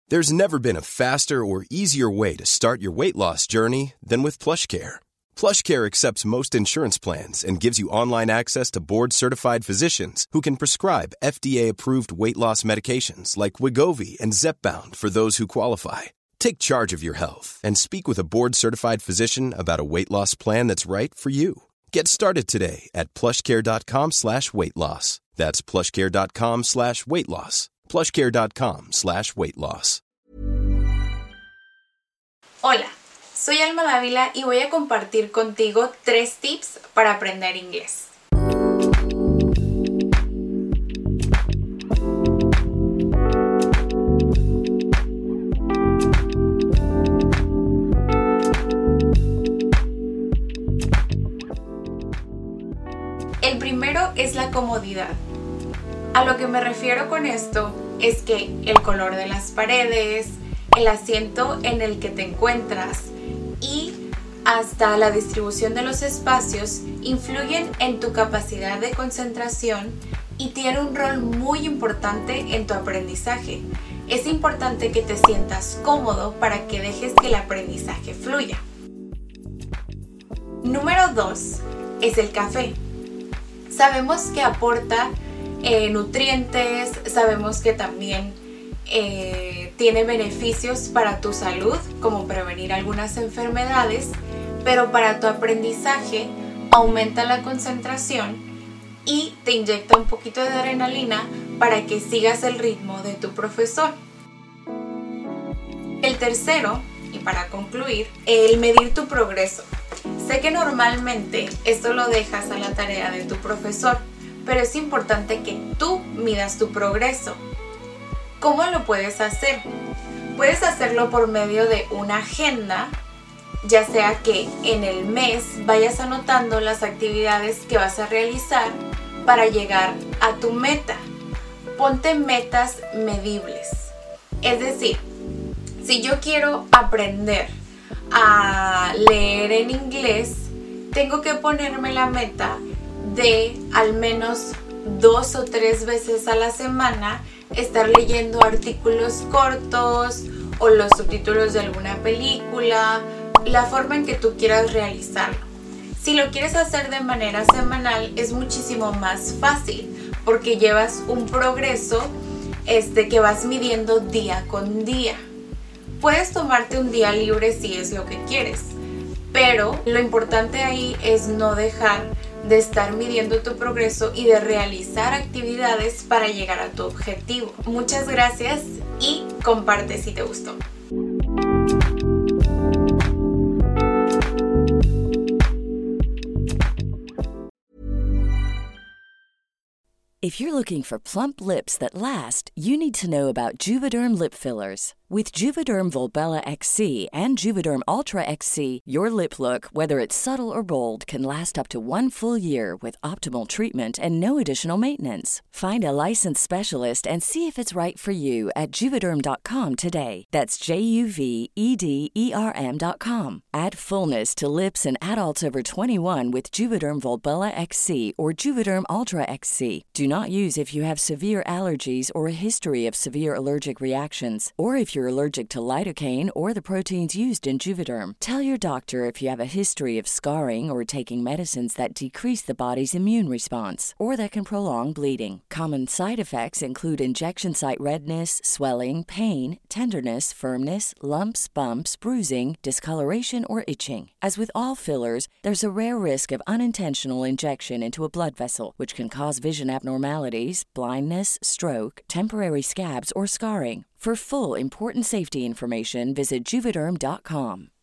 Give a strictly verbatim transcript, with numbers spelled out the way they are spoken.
There's never been a faster or easier way to start your weight loss journey than with PlushCare. PlushCare accepts most insurance plans and gives you online access to board-certified physicians who can prescribe F D A-approved weight loss medications like Wegovy and Zepbound for those who qualify. Take charge of your health and speak with a board-certified physician about a weight loss plan that's right for you. Get started today at plushcare.com slash weight loss. That's plushcare.com slash weight loss. plushcare.com slash weight loss. Hola, soy Alma Dávila y voy a compartir contigo tres tips para aprender inglés. El primero es la comodidad. A lo que me refiero con esto es que el color de las paredes, el asiento en el que te encuentras y hasta la distribución de los espacios influyen en tu capacidad de concentración y tiene un rol muy importante en tu aprendizaje. Es importante que te sientas cómodo para que dejes que el aprendizaje fluya. Número dos es el café. Sabemos que aporta eh, nutrientes, sabemos que también eh, tiene beneficios para tu salud, como prevenir algunas enfermedades, pero para tu aprendizaje aumenta la concentración y te inyecta un poquito de adrenalina para que sigas el ritmo de tu profesor. El tercero, y para concluir, el medir tu progreso. Sé que normalmente esto lo dejas a la tarea de tu profesor, pero es importante que tú midas tu progreso. ¿Cómo lo puedes hacer? Puedes hacerlo por medio de una agenda, ya sea que en el mes vayas anotando las actividades que vas a realizar para llegar a tu meta. Ponte metas medibles. Es decir, si yo quiero aprender a leer en inglés, tengo que ponerme la meta de al menos dos o tres veces a la semana estar leyendo artículos cortos o los subtítulos de alguna película, la forma en que tú quieras realizarlo. Si lo quieres hacer de manera semanal es muchísimo más fácil porque llevas un progreso este, que vas midiendo día con día. Puedes tomarte un día libre si es lo que quieres, pero lo importante ahí es no dejar de estar midiendo tu progreso y de realizar actividades para llegar a tu objetivo. Muchas gracias y comparte si te gustó. If you're looking for plump lips that last, you need to know about Juvederm lip fillers. With Juvederm Volbella X C and Juvederm Ultra X C, your lip look, whether it's subtle or bold, can last up to one full year with optimal treatment and no additional maintenance. Find a licensed specialist and see if it's right for you at Juvederm dot com today. That's J U V E D E R M dot com. Add fullness to lips in adults over twenty-one with Juvederm Volbella X C or Juvederm Ultra X C. Do not use if you have severe allergies or a history of severe allergic reactions, or if you're allergic to lidocaine or the proteins used in Juvederm. Tell your doctor if you have a history of scarring or taking medicines that decrease the body's immune response or that can prolong bleeding. Common side effects include injection site redness, swelling, pain, tenderness, firmness, lumps, bumps, bruising, discoloration, or itching. As with all fillers, there's a rare risk of unintentional injection into a blood vessel, which can cause vision abnormalities, blindness, stroke, temporary scabs, or scarring. For full, important safety information, visit Juvederm dot com.